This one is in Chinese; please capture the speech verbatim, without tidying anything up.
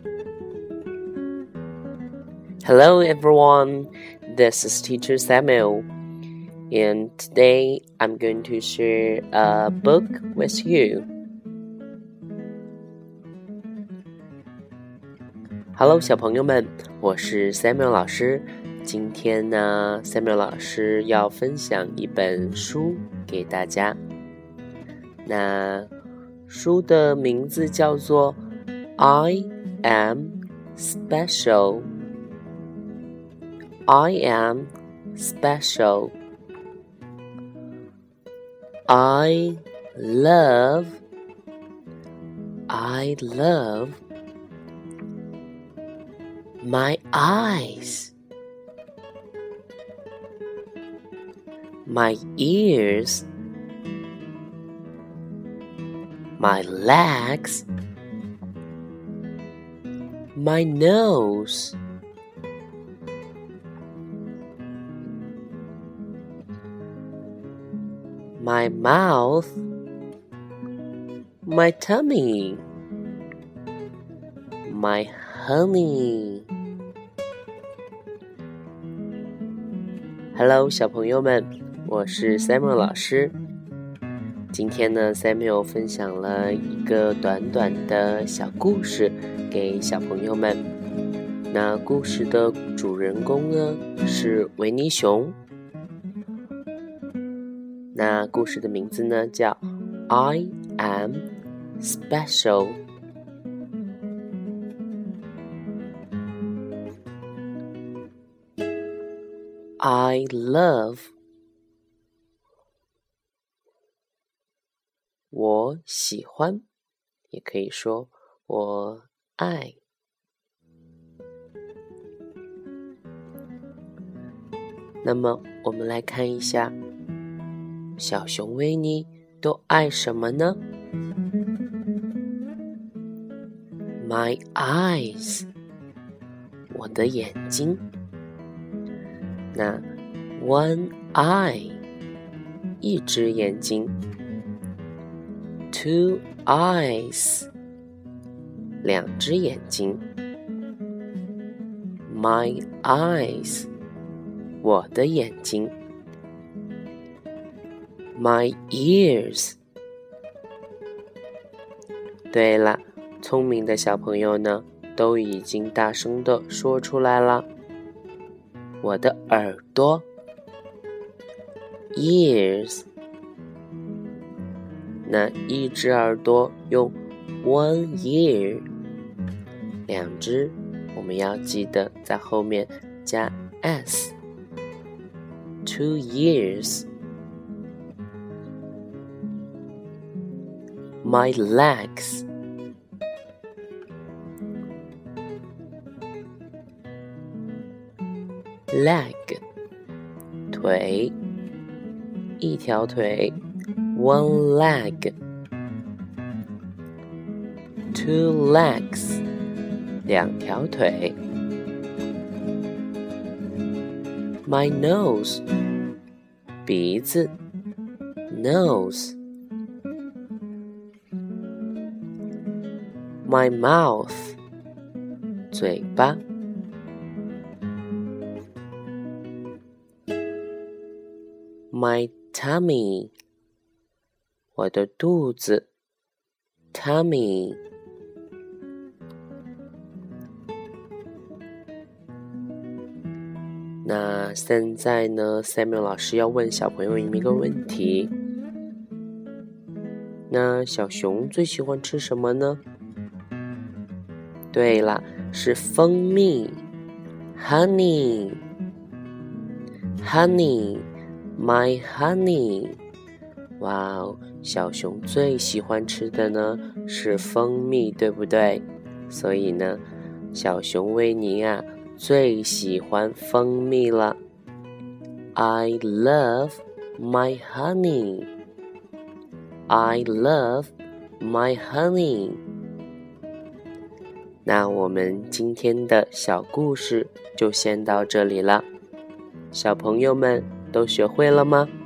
Hello everyone, this is Teacher Samuel, and today I'm going to share a book with you. Hello 小朋友们，我是 Samuel 老师。今天呢 Samuel 老师要分享一本书给大家。那书的名字叫做 I am special。I am special. I love, I love my eyes, my ears, my legs, my nose.My mouth, my tummy, my honey. Hello 小朋友们，我是 Samuel 老师。今天呢 Samuel 分享了一个短短的小故事给小朋友们。那故事的主人公呢是维尼熊。那故事的名字呢叫 I am special。 I love， 我喜欢，也可以说我爱。那么我们来看一下小熊维尼都爱什么呢？ My eyes， 我的眼睛。那 one eye， 一只眼睛。 two eyes， 两只眼睛。 My eyes， 我的眼睛。My ears， 对了，聪明的小朋友呢，都已经大声地说出来了。我的耳朵 ears， 那一只耳朵用 one ear， 两只我们要记得在后面加 s， two ears。My legs， leg， 腿，一条腿 one leg。 two legs， 两条腿。 My nose， 鼻子 nose。My mouth， 嘴巴。 My tummy， 我的肚子 tummy。 那现在呢 Samuel 老师要问小朋友一个问题，那小熊最喜欢吃什么呢？对了，是蜂蜜 honey honey my honey。 哇哦，小熊最喜欢吃的呢是蜂蜜，对不对？所以呢小熊维尼啊最喜欢蜂蜜了。 I love my honey， I love my honey。 那我们今天的小故事就先到这里了，小朋友们都学会了吗？